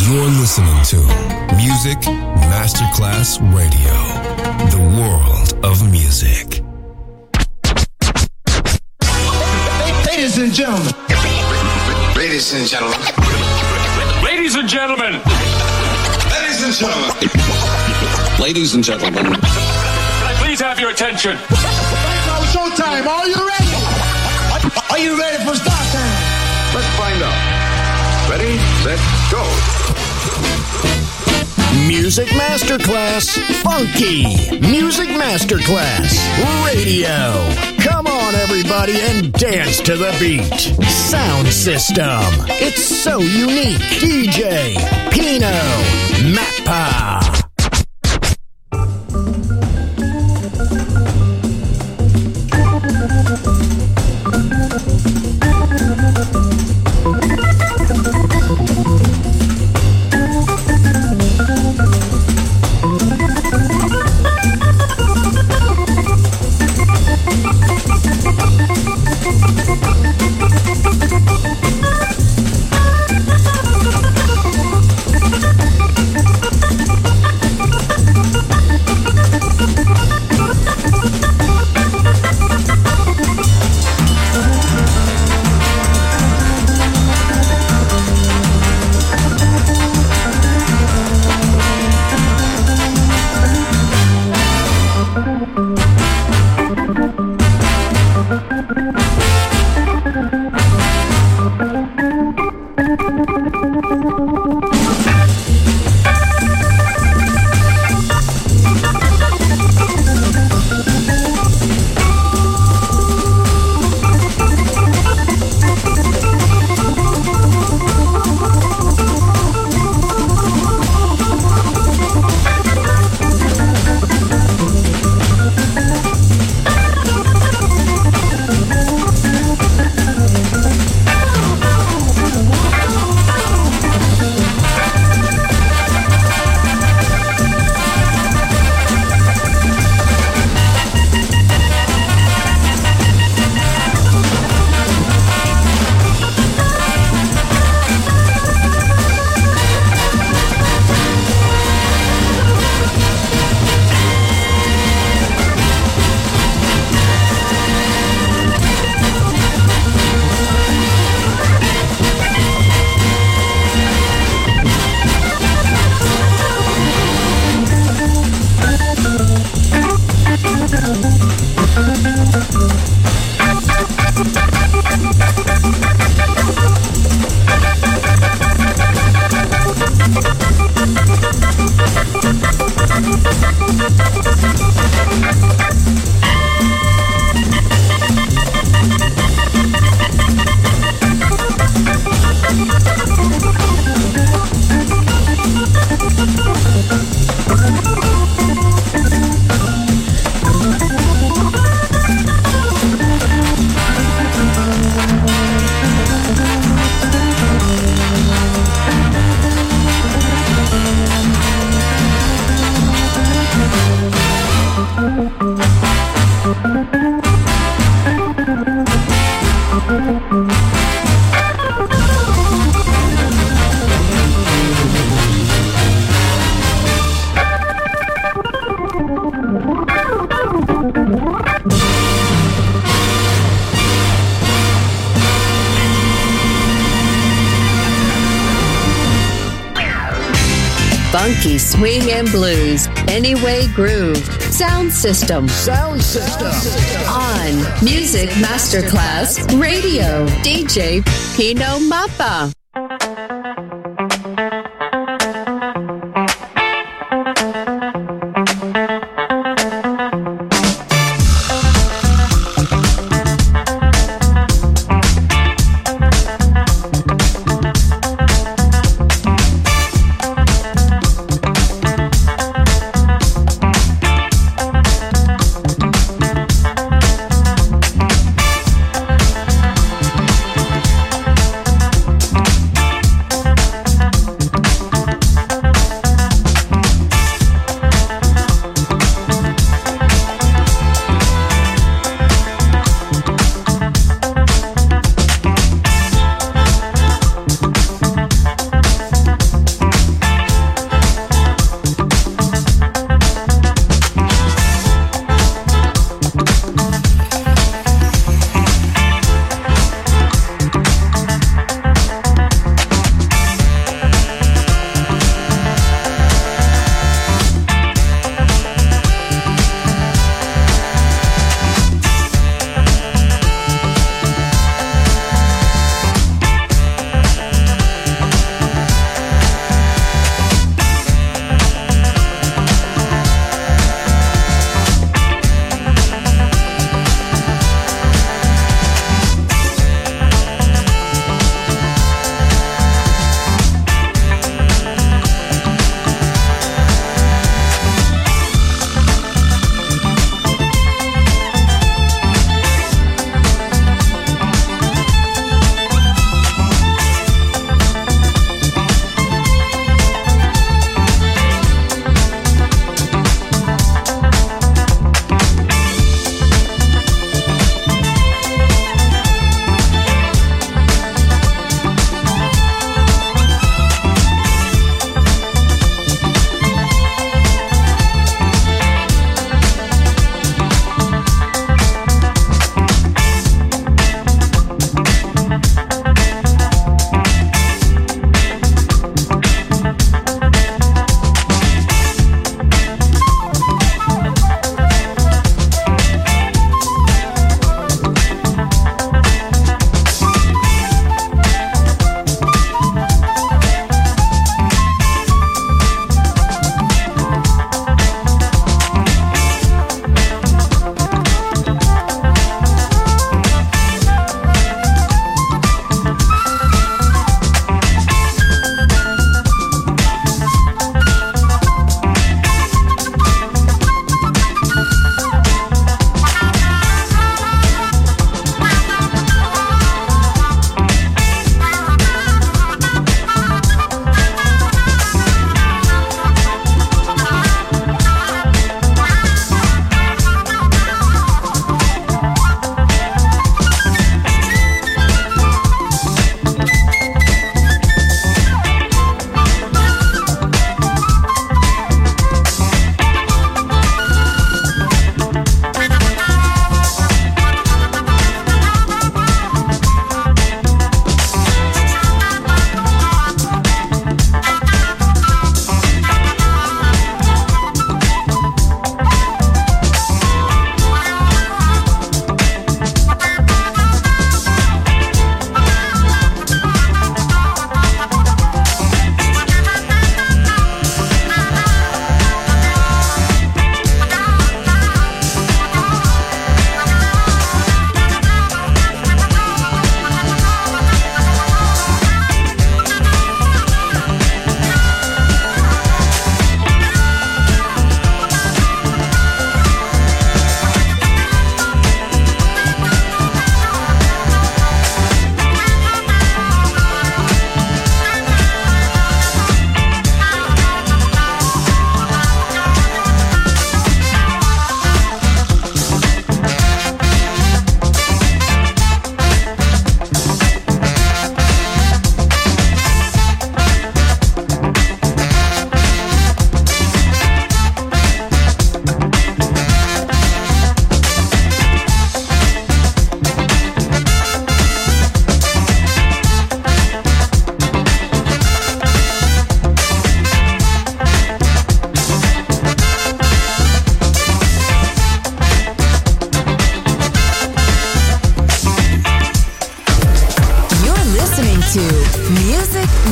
You're listening to Music Masterclass Radio, the world of music. Ladies and gentlemen. Ladies and gentlemen. Ladies and gentlemen. Ladies and gentlemen. Ladies and gentlemen. Can I please have your attention? Right now, showtime. Are you ready? Are you ready for start time? Let's find out. Ready, set, go. Music Masterclass Funky. Music Masterclass Radio. Come on, everybody, and dance to the beat. Sound system. It's so unique. DJ Pino Mappa. Funky swing and blues, Anyway Groove, Sound System. On Music Masterclass Radio, DJ Pino Mappa.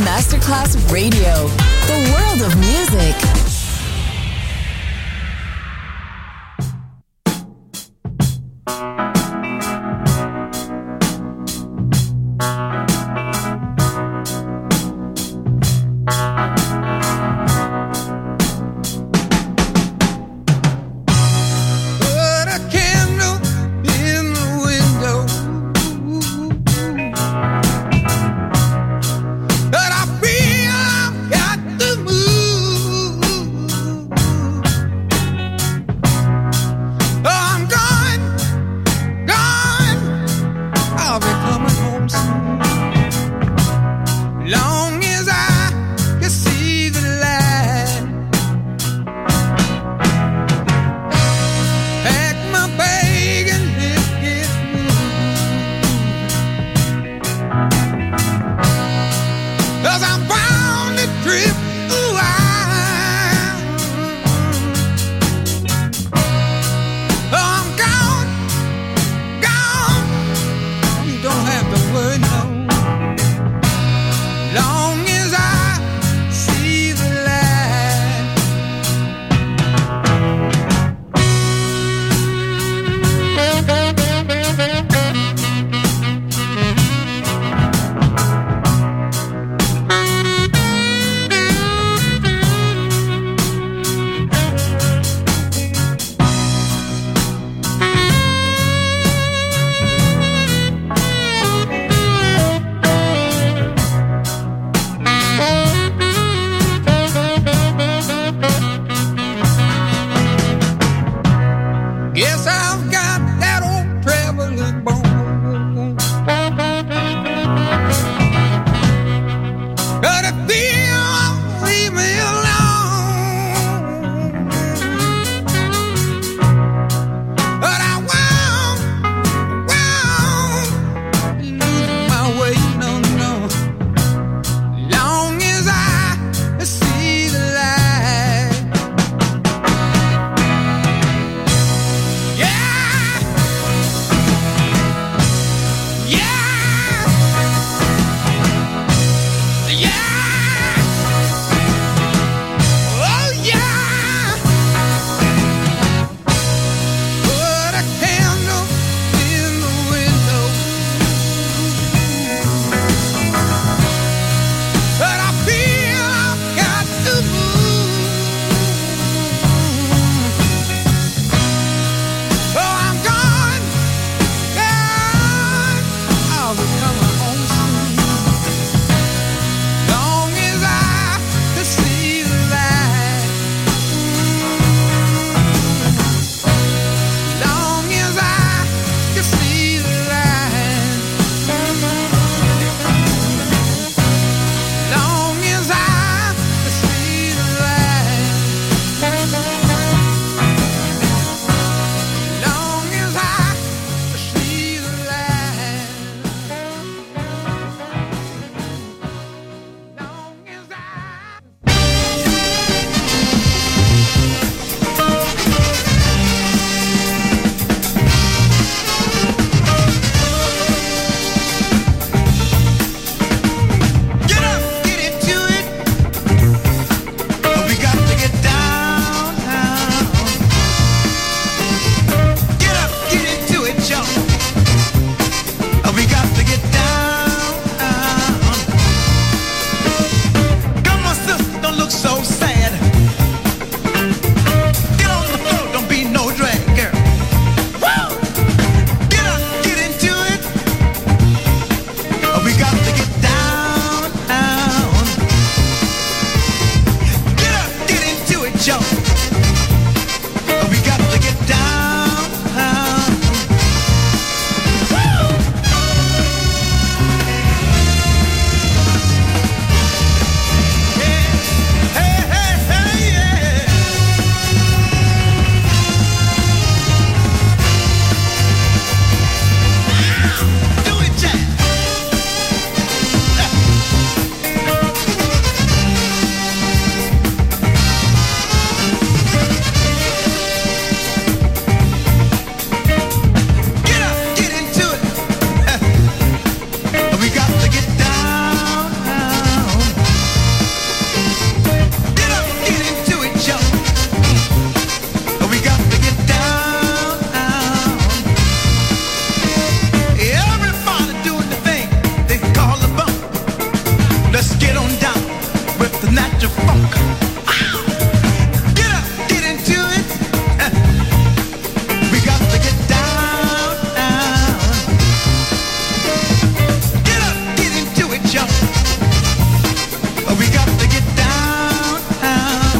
Masterclass Radio, the world of music. But I feel I've got to move. natural funk. Get up, get into it. We got to get down, down. Get up, get into it, y'all. We got to get down, down.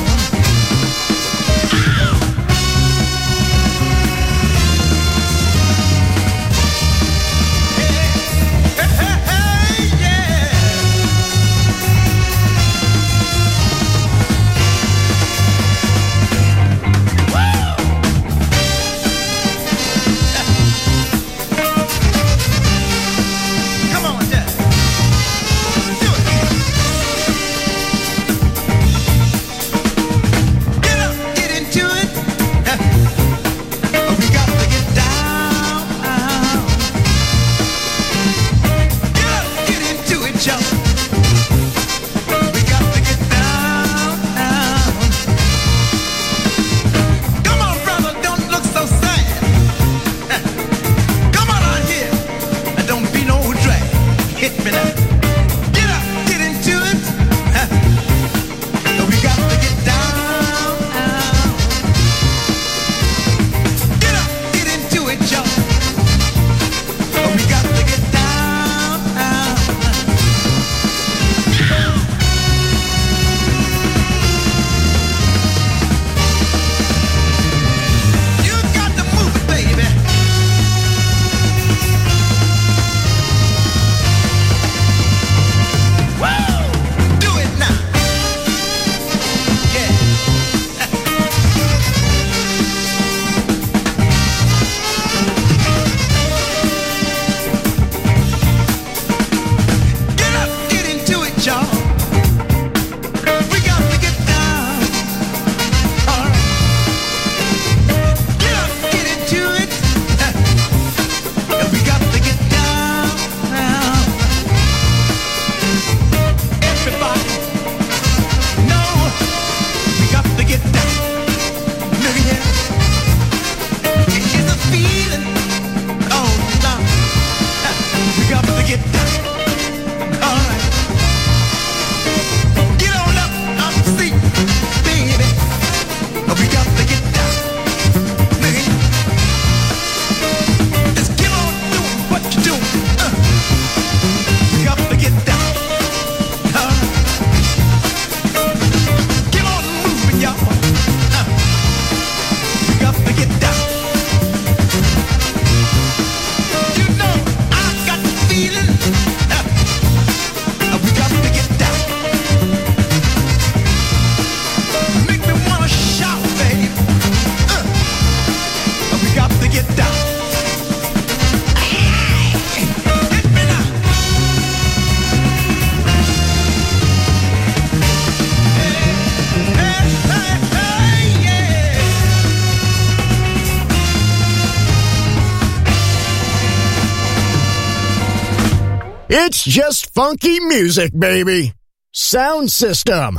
It's just funky music, baby. Sound System,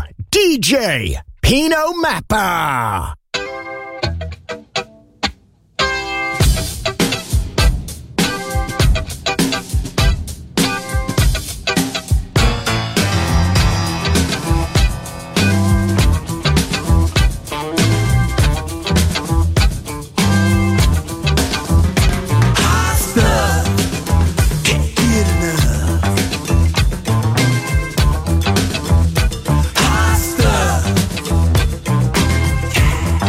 DJ Pino Mappa. Hot stuff.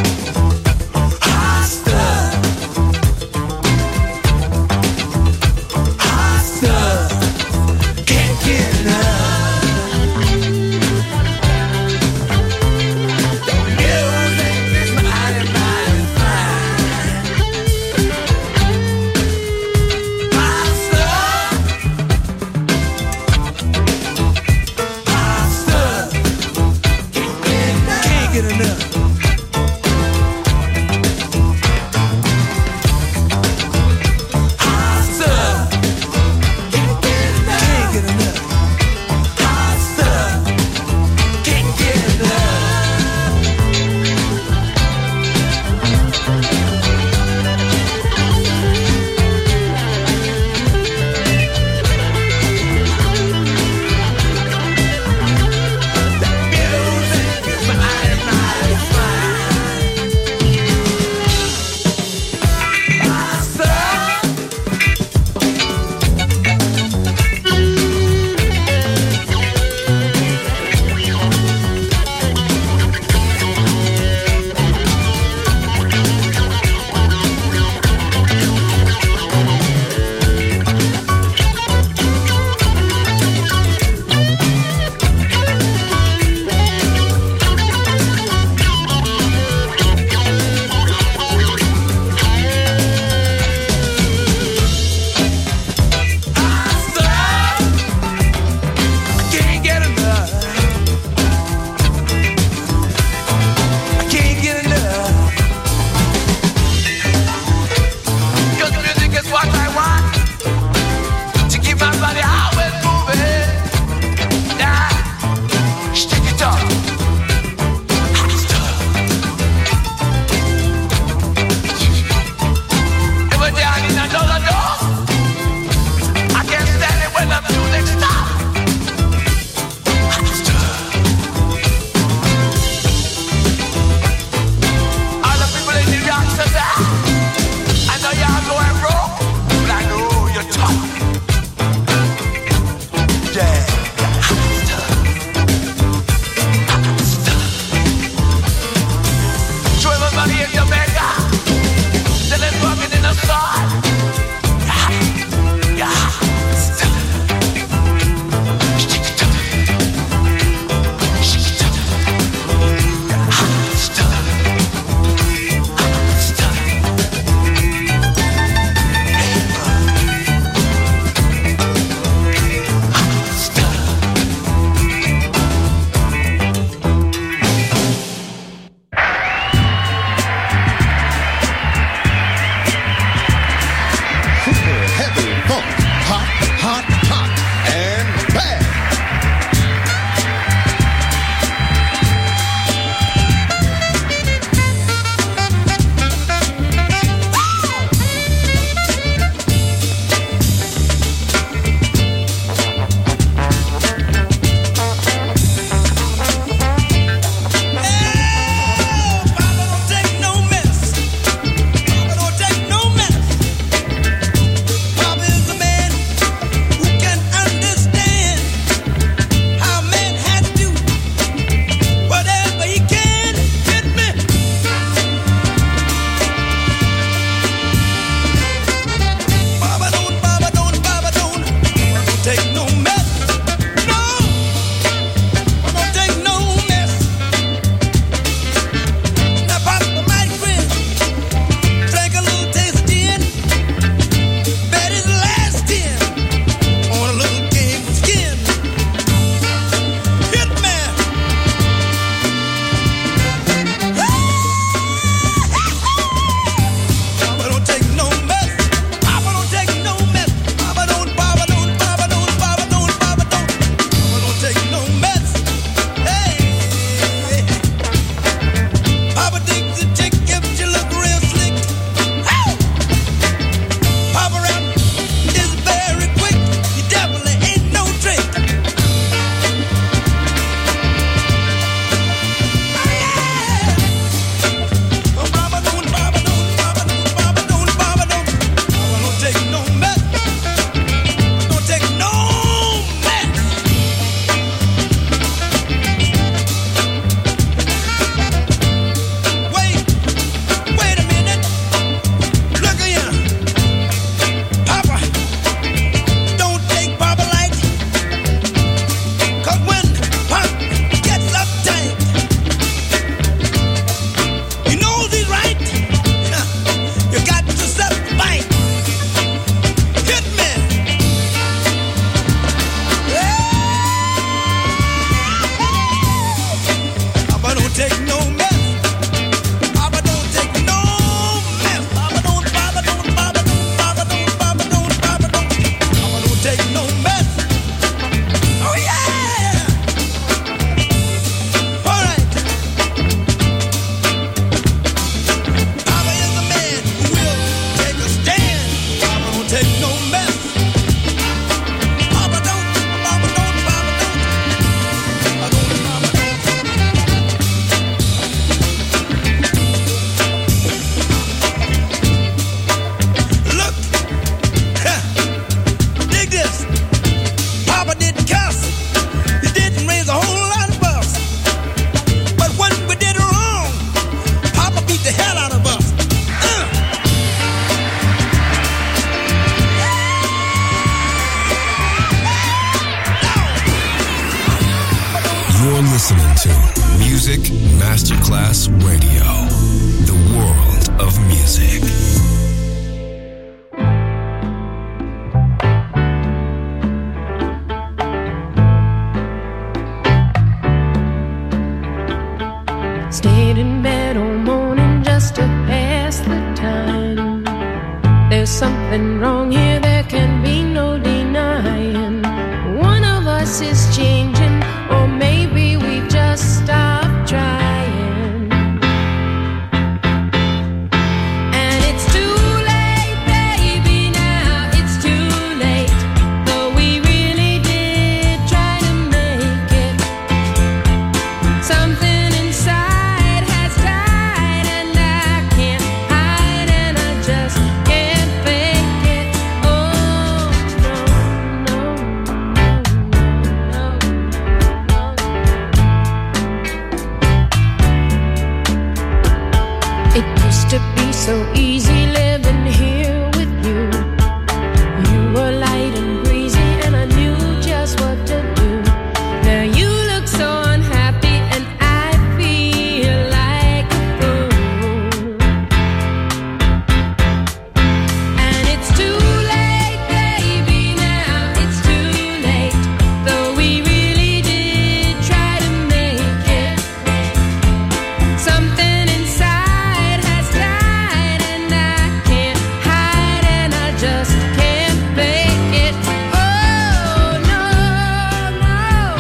listening to Music Masterclass Radio, the world of music. Stayed in bed all morning just to pass the time. There's something wrong here, there can be no denying. One of us is changing, or maybe we just stopped trying. And it's too late, baby, now it's too late. Though we really did try to make it. Something inside has died, and I can't hide, and I just can't fake it. Oh, no, no, no, no, no. It used to be so easy living here with you. You were light and breezy, and I knew just what to do. Now you look so unhappy, and I feel like a fool. And it's too late, baby, now it's too late. Though we really did try to make it. Something inside has died, and I can't hide, and I just can't fake it. Oh, no, no.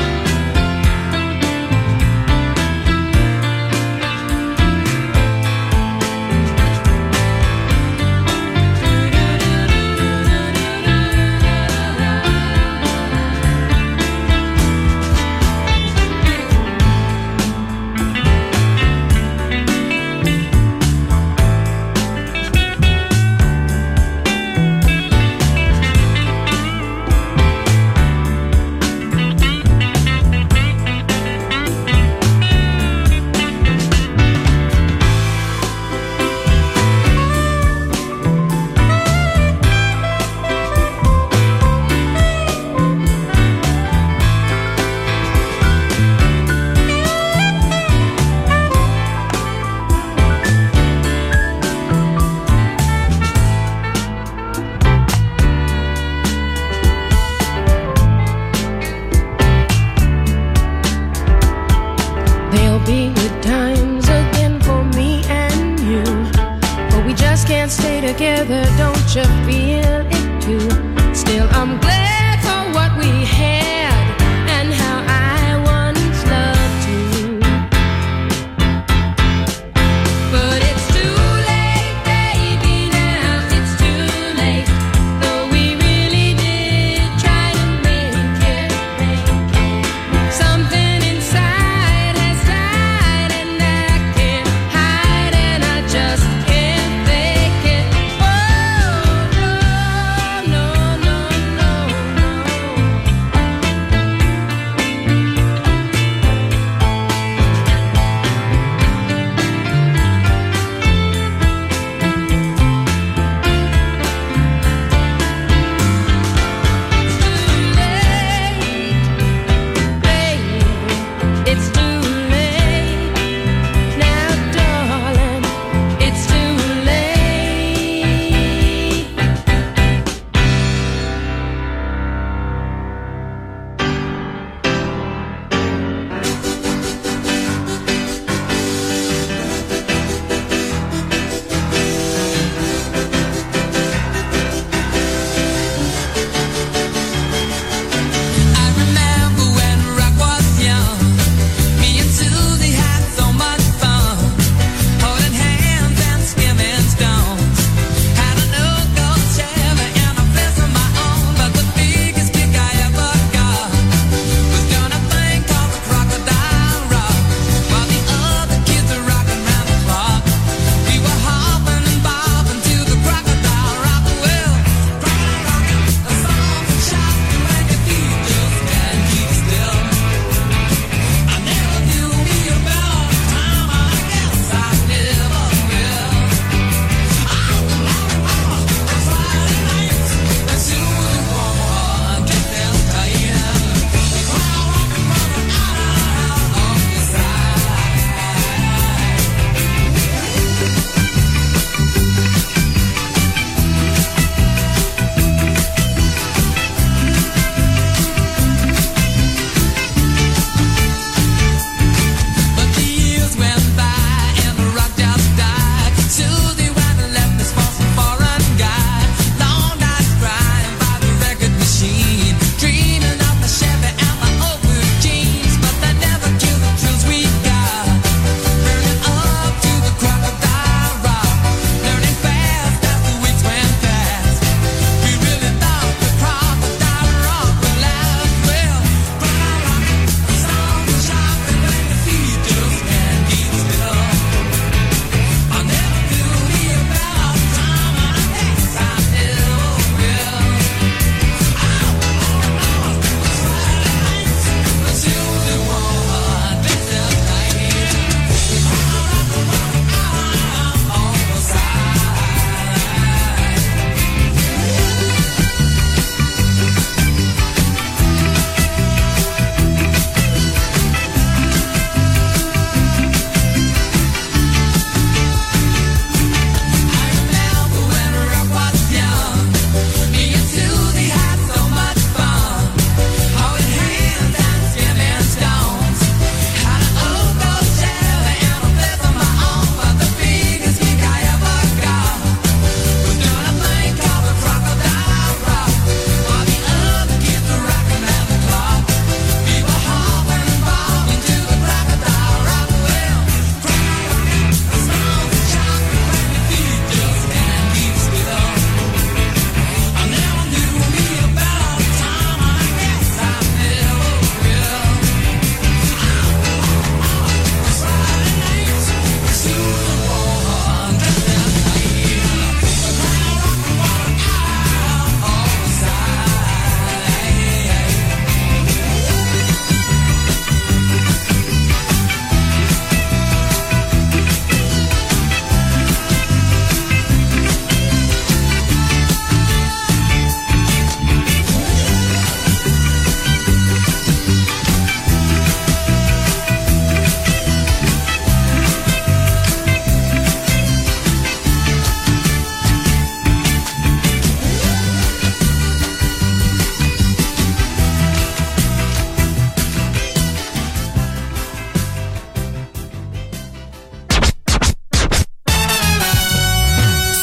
There'll be good times again for me and you, but we just can't stay together, don't you feel it too? Still, I'm glad for what we had and how I once loved you. But it's too late, baby, now it's too late. Though we really did try to make it. Something inside has died, and I can't hide, and I just can't fake it. Oh, no.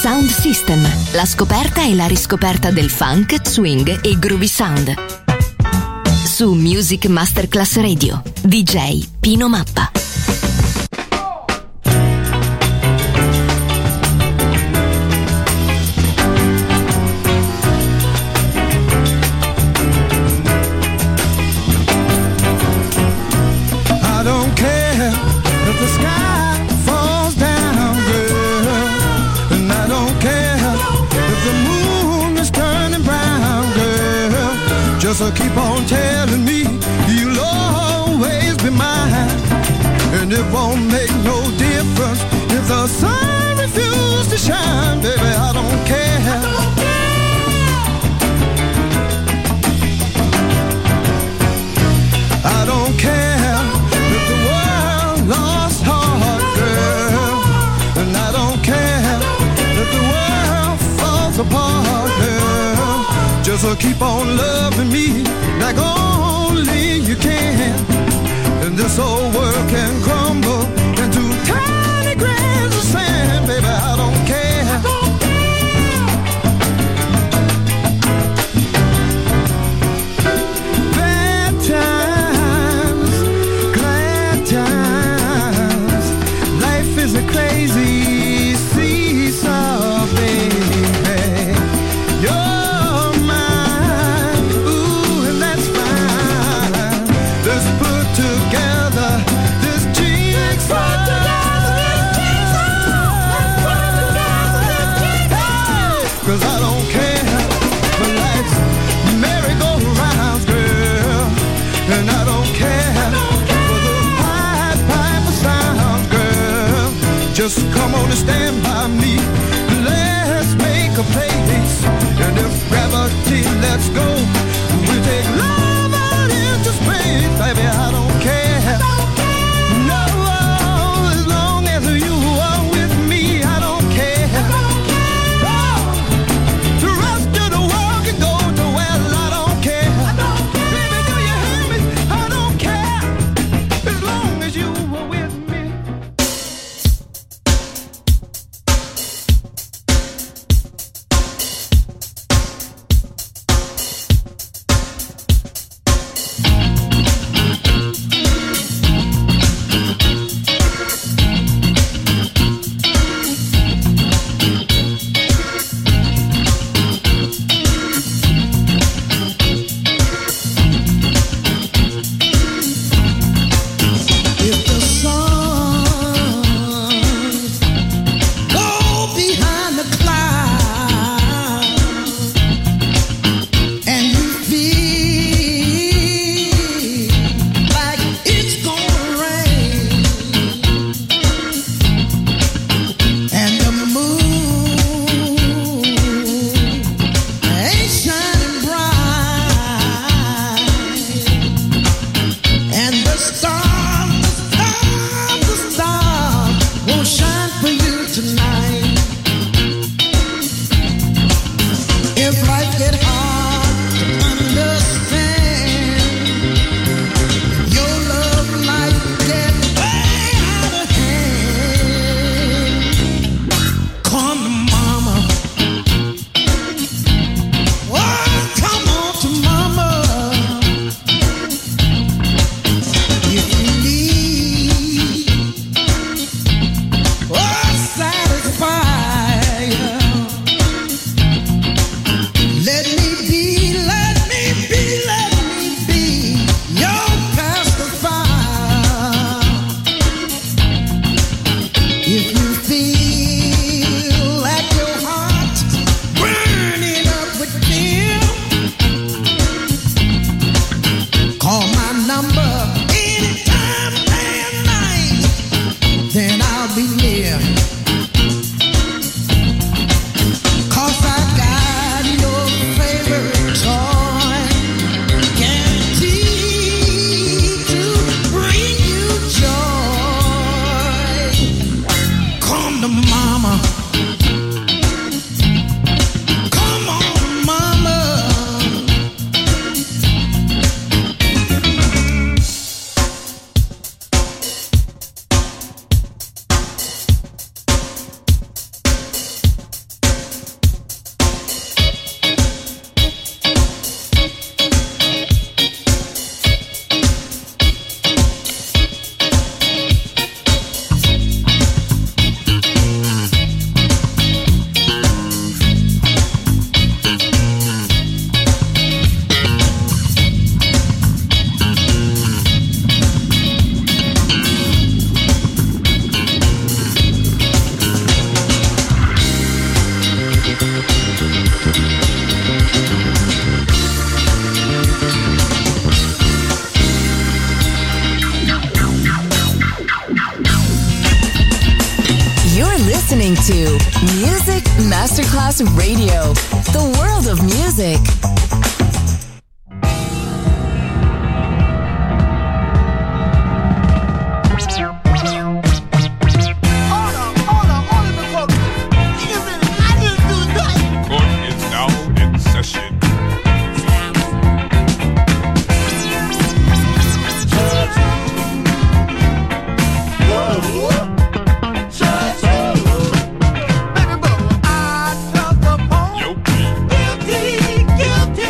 Sound System, la scoperta e la riscoperta del funk, swing e groovy sound. Su Music Masterclass Radio, DJ Pino Mappa. So keep on telling me you'll always be mine, and it won't make no difference if the sun refuses to shine, baby. I don't care. I don't care if the world lost heart, girl, and I don't care if the world falls apart, girl. Just keep on loving me like only you can, and this old world can crumble into tiny grains of sand, baby. I don't care. Bad times, glad times, life is a crazy seesaw, baby. You're together this jigsaw. Cause I don't care for life's merry-go-rounds, girl, and I don't care for the pipe sound, girl. Just come on and stand by me. Let's make a place, and if gravity lets go, we'll take love out into space, baby. I don't care. No, as long as you are with me, I don't care. To rest of the world can go to well, I don't care. Baby, do you hear me? I don't care. As long as you are with me. listening to Music Masterclass Radio, the world of music. Guilty.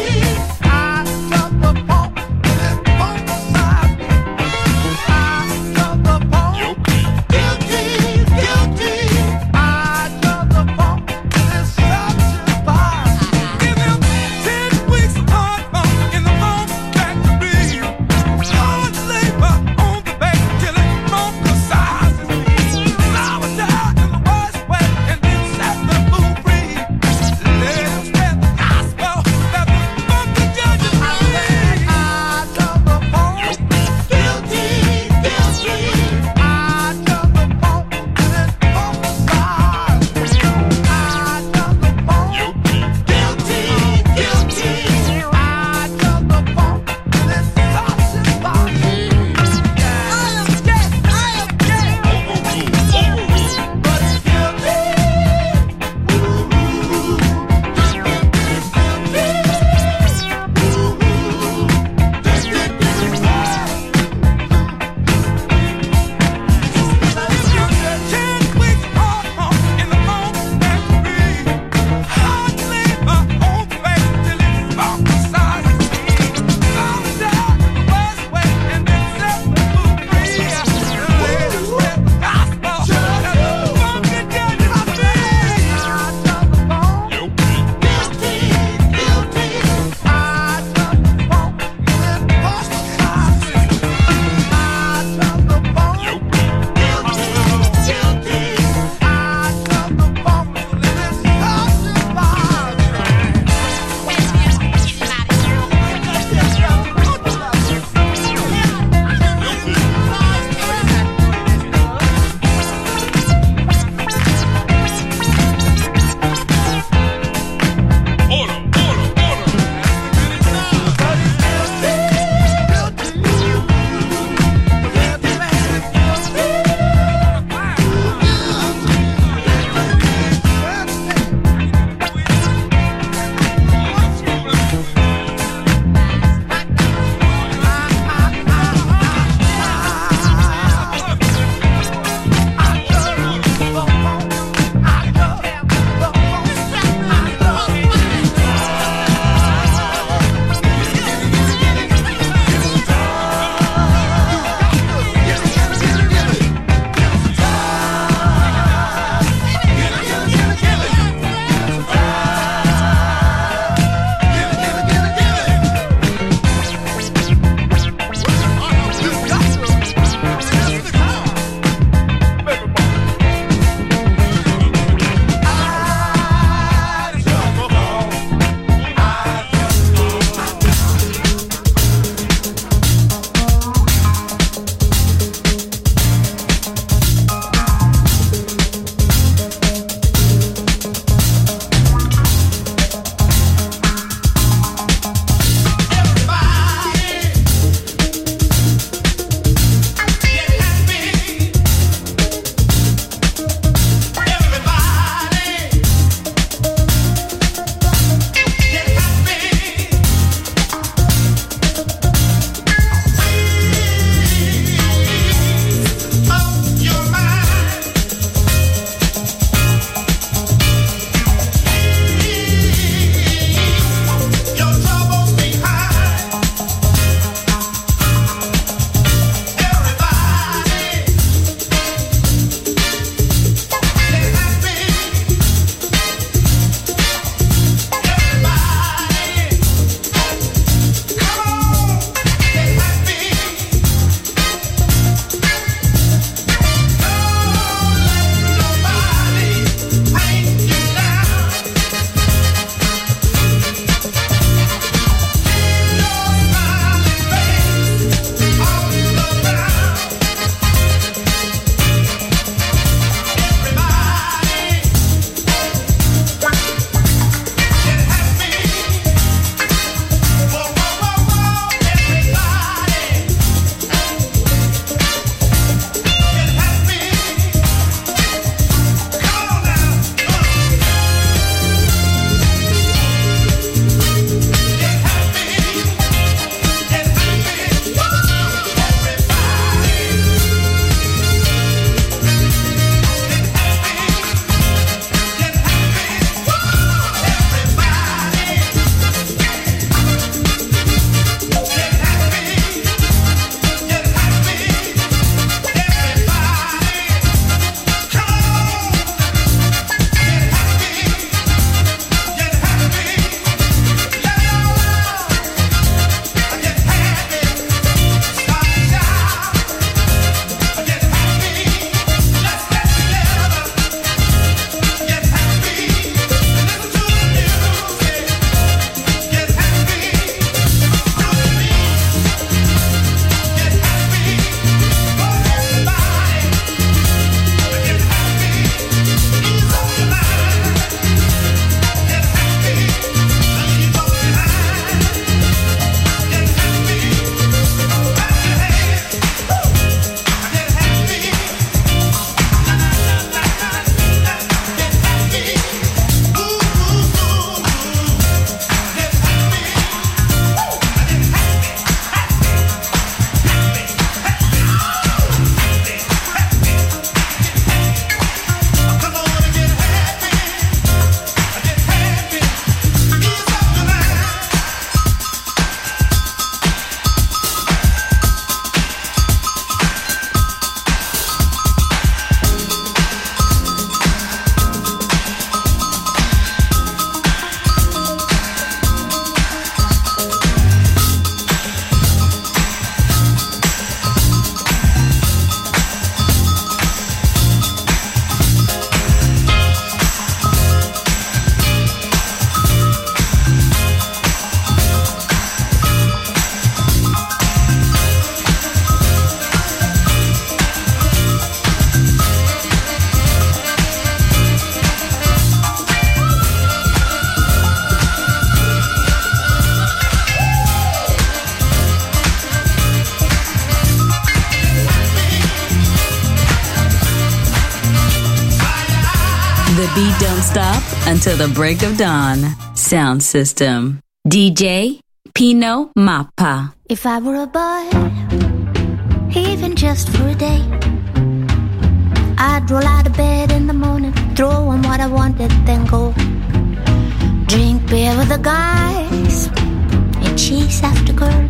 The beat don't stop until the break of dawn. Sound System. DJ Pino Mappa. If I were a boy, even just for a day, I'd roll out of bed in the morning, throw on what I wanted, then go drink beer with the guys and chase after girls.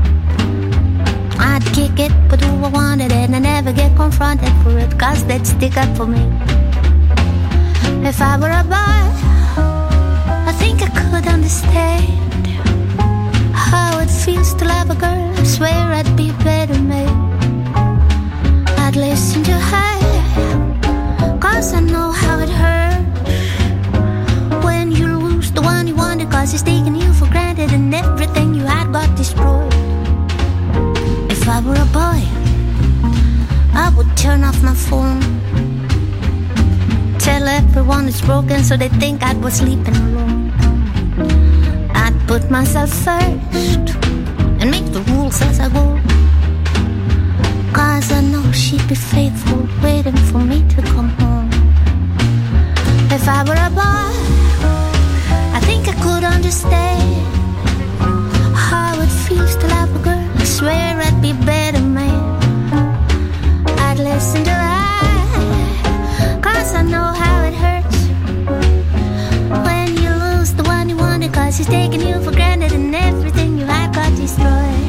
I'd kick it with who I wanted and I never get confronted for it, 'cause they'd stick up for me. If I were a boy, I think I could understand how it feels to love a girl. I swear I'd be a better man. I'd listen to her, 'cause I know how it hurts when you lose the one you wanted, 'cause he's taking you for granted and everything you had got destroyed. If I were a boy, I would turn off my phone, tell everyone it's broken so they think I was sleeping alone. I'd put myself first and make the rules as I go, 'cause I know she'd be faithful, waiting for me to come home. If I were a boy, I think I could understand how it feels to love a girl. I swear I'd be a better man. I'd listen to her, 'cause I know how it hurts when you lose the one you wanted, 'cause he's taking you for granted and everything you had got destroyed.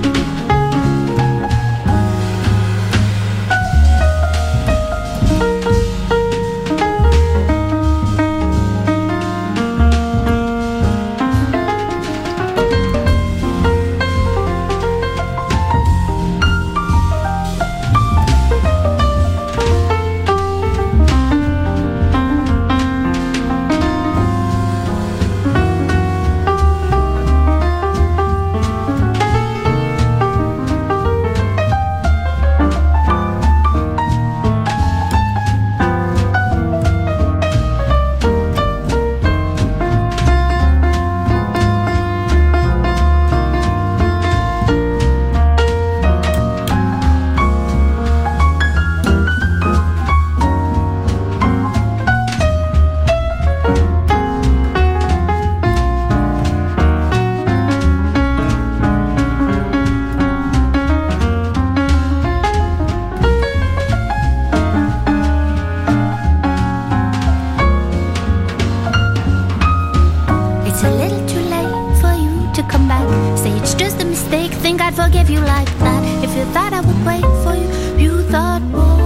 Forgive you like that. If you thought I would wait for you, you thought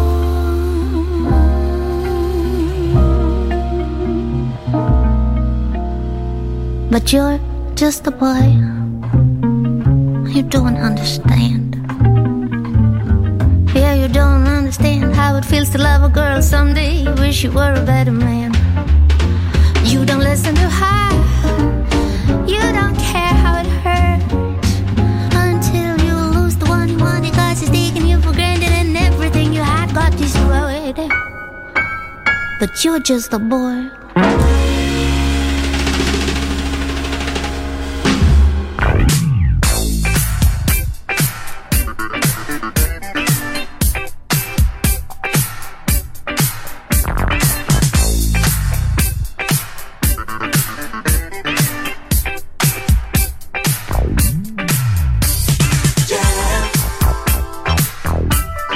but you're just a boy. You don't understand. Yeah, you don't understand how it feels to love a girl someday. You wish you were a better man. You don't listen to her. You don't care how it hurts until you lose the one you wanted, 'cause he's taking you for granted and everything you had got destroyed. But you're just a boy.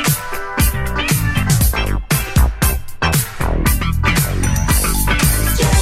Yeah.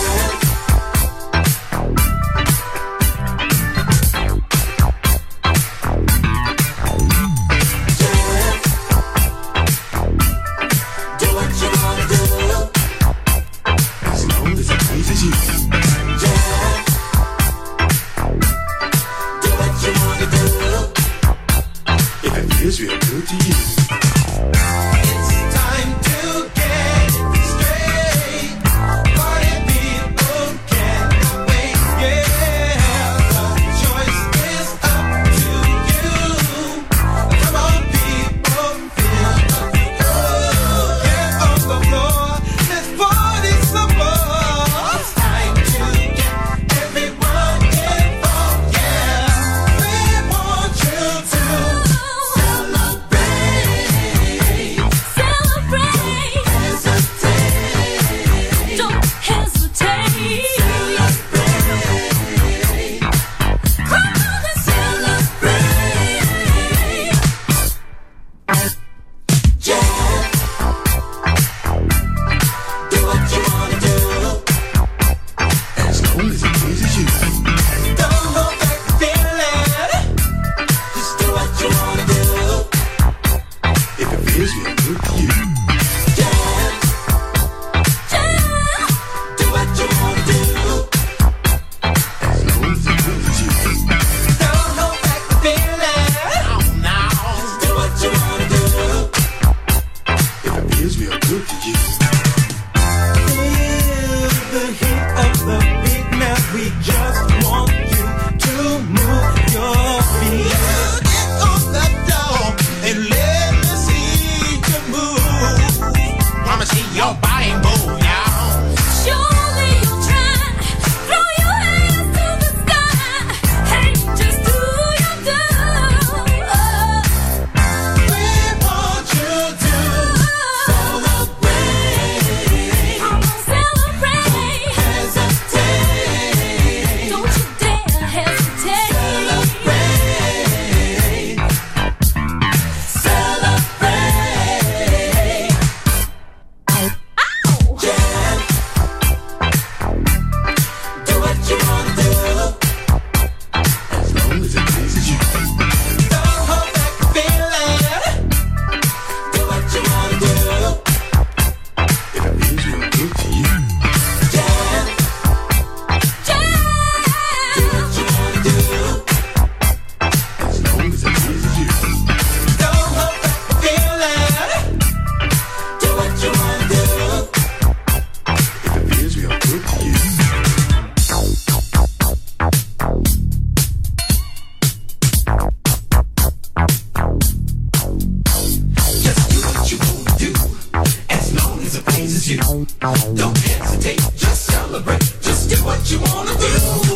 Don't hesitate, just celebrate, just do what you wanna do.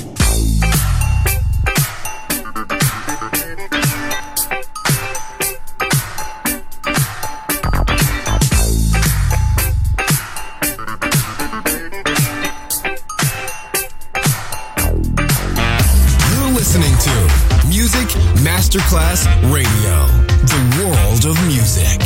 Masterclass Radio, the world of music.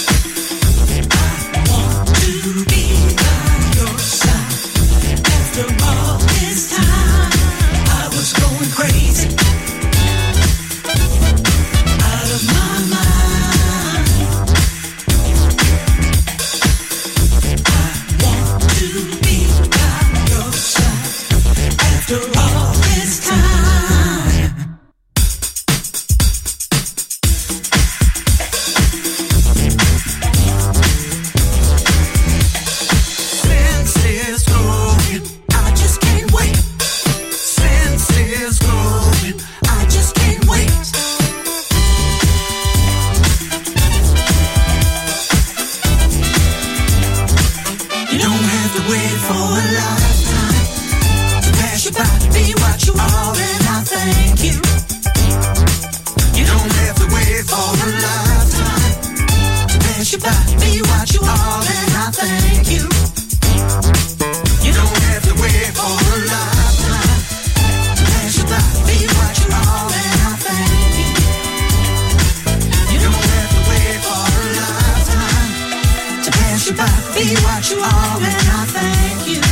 After wait for a lifetime to pass you by to be what you are, and I thank you. You don't have to wait for a lifetime to pass you by to be what you are, and I thank you. You don't have to wait for a lifetime to pass you by to be what you are, and I thank you. You don't have to wait for a lifetime to pass you by to be what you are, and I thank you.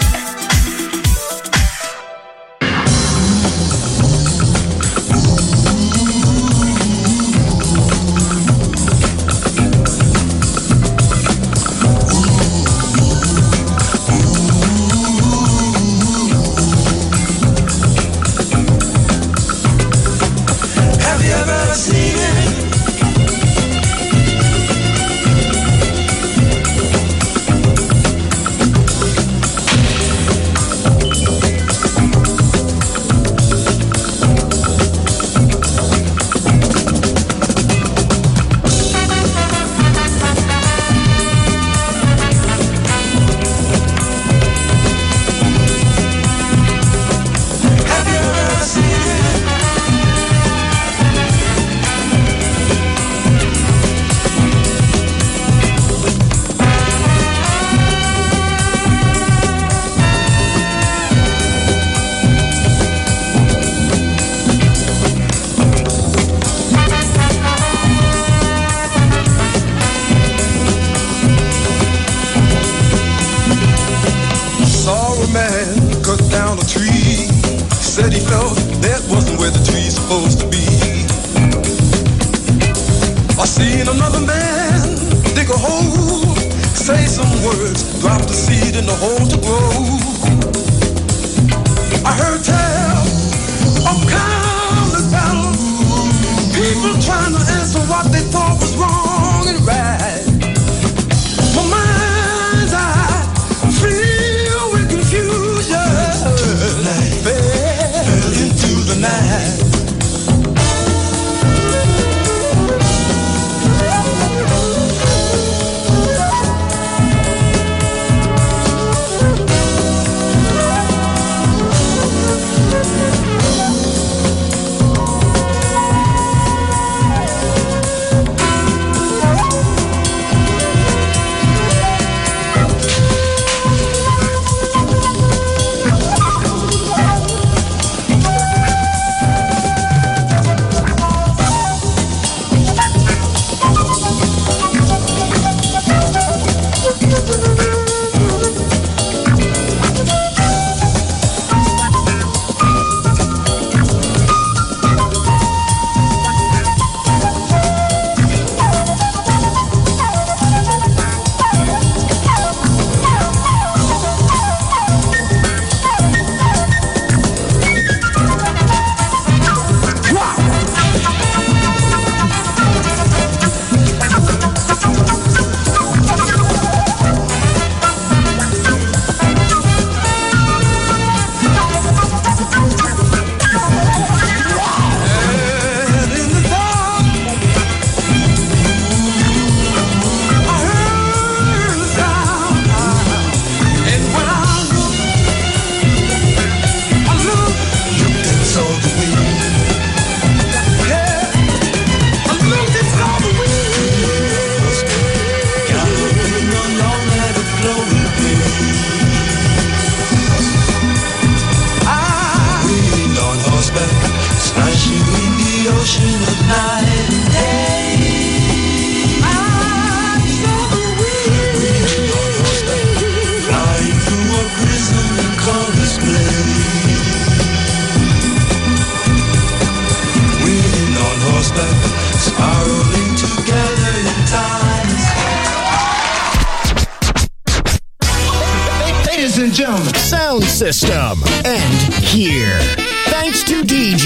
Sound system. And here. Thanks to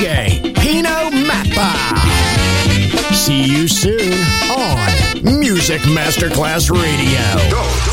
DJ Pino Mappa. See you soon on Music Masterclass Radio.